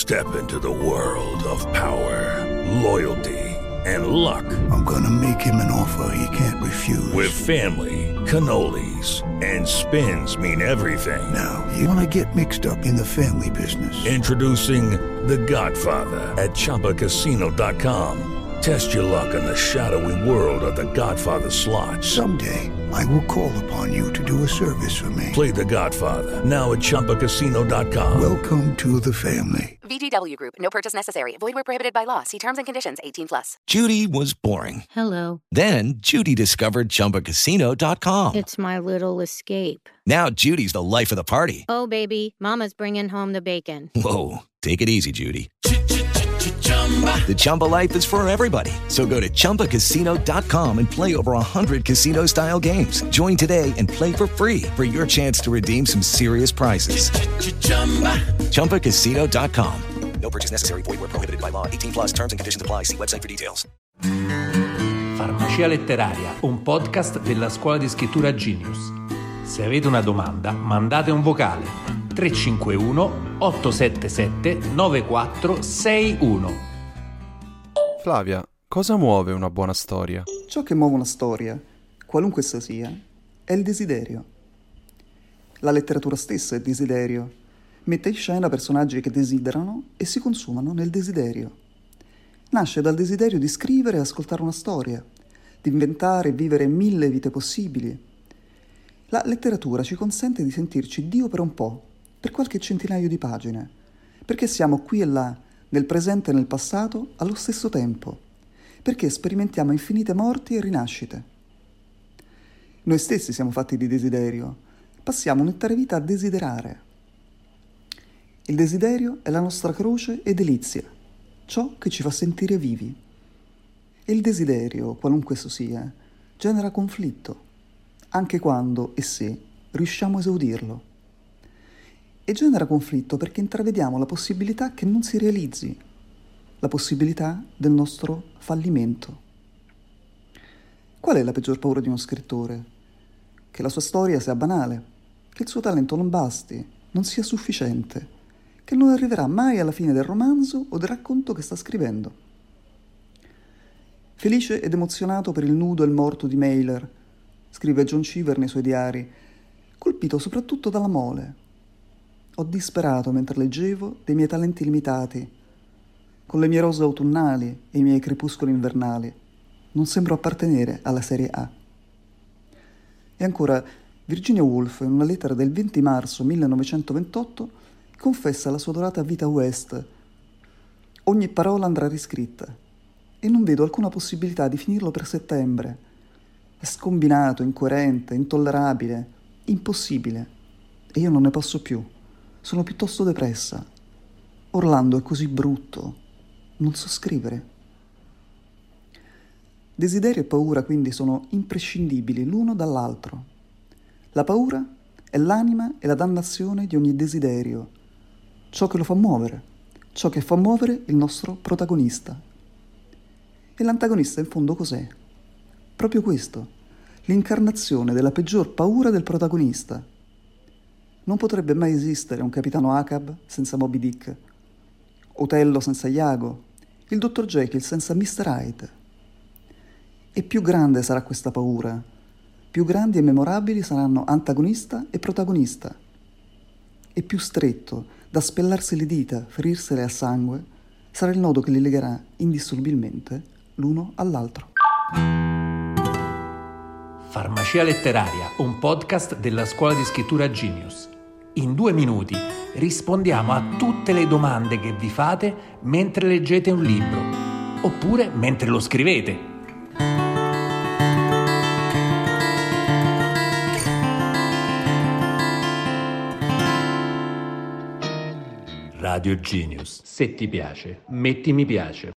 Step into the world of power, loyalty, and luck. I'm gonna make him an offer he can't refuse. With family, cannolis, and spins mean everything. Now, you wanna get mixed up in the family business. Introducing The Godfather at ChumbaCasino.com. Test your luck in the shadowy world of The Godfather slot. Someday, I will call upon you to do a service for me. Play The Godfather, now at ChumbaCasino.com. Welcome to the family. VGW Group. No purchase necessary. Void where prohibited by law. See terms and conditions. 18+. Judy was boring. Hello. Then Judy discovered ChumbaCasino.com. It's my little escape. Now Judy's the life of the party. Oh, baby, mama's bringing home the bacon. Whoa, take it easy, Judy. The Chumba life is for everybody. So go to ChumbaCasino.com and play over 100 casino-style games. Join today and play for free for your chance to redeem some serious prizes. ChumbaCasino.com. No purchase necessary. Void where prohibited by law. 18+. Terms and conditions apply. See website for details. Farmacia letteraria, un podcast della scuola di scrittura Genius. Se avete una domanda, mandate un vocale 351 877 9461. Flavia, cosa muove una buona storia? Ciò che muove una storia, qualunque essa sia, è il desiderio. La letteratura stessa è desiderio. Mette in scena personaggi che desiderano e si consumano nel desiderio. Nasce dal desiderio di scrivere e ascoltare una storia, di inventare e vivere 1000 vite possibili. La letteratura ci consente di sentirci Dio per un po', per qualche centinaio di pagine, perché siamo qui e là, nel presente e nel passato, allo stesso tempo, perché sperimentiamo infinite morti e rinascite. Noi stessi siamo fatti di desiderio, passiamo un'intera vita a desiderare. Il desiderio è la nostra croce e delizia, ciò che ci fa sentire vivi. E il desiderio, qualunque esso sia, genera conflitto, anche quando e se riusciamo a esaudirlo. E genera conflitto perché intravediamo la possibilità che non si realizzi, la possibilità del nostro fallimento. Qual è la peggior paura di uno scrittore? Che la sua storia sia banale, che il suo talento non basti, non sia sufficiente, che non arriverà mai alla fine del romanzo o del racconto che sta scrivendo. Felice ed emozionato per il nudo e il morto di Mailer, scrive John Cheever nei suoi diari, colpito soprattutto dalla mole. Ho disperato mentre leggevo dei miei talenti limitati. Con le mie rose autunnali e i miei crepuscoli invernali, non sembro appartenere alla serie A. E ancora, Virginia Woolf, in una lettera del 20 marzo 1928, confessa la sua dorata vita West. Ogni parola andrà riscritta, e non vedo alcuna possibilità di finirlo per settembre. È scombinato, incoerente, intollerabile, impossibile, e io non ne posso più. Sono piuttosto depressa. Orlando è così brutto. Non so scrivere. Desiderio e paura quindi sono imprescindibili l'uno dall'altro. La paura è l'anima e la dannazione di ogni desiderio, ciò che lo fa muovere, ciò che fa muovere il nostro protagonista. E l'antagonista in fondo cos'è? Proprio questo, l'incarnazione della peggior paura del protagonista. Non potrebbe mai esistere un capitano Ahab senza Moby Dick, Otello senza Iago, il dottor Jekyll senza Mr. Hyde. E più grande sarà questa paura, più grandi e memorabili saranno antagonista e protagonista. E più stretto, da spellarsi le dita, ferirsele a sangue, sarà il nodo che li legherà indissolubilmente l'uno all'altro. Farmacia letteraria, un podcast della scuola di scrittura Genius. In 2 minuti rispondiamo a tutte le domande che vi fate mentre leggete un libro, oppure mentre lo scrivete. Radio Genius. Se ti piace, metti mi piace.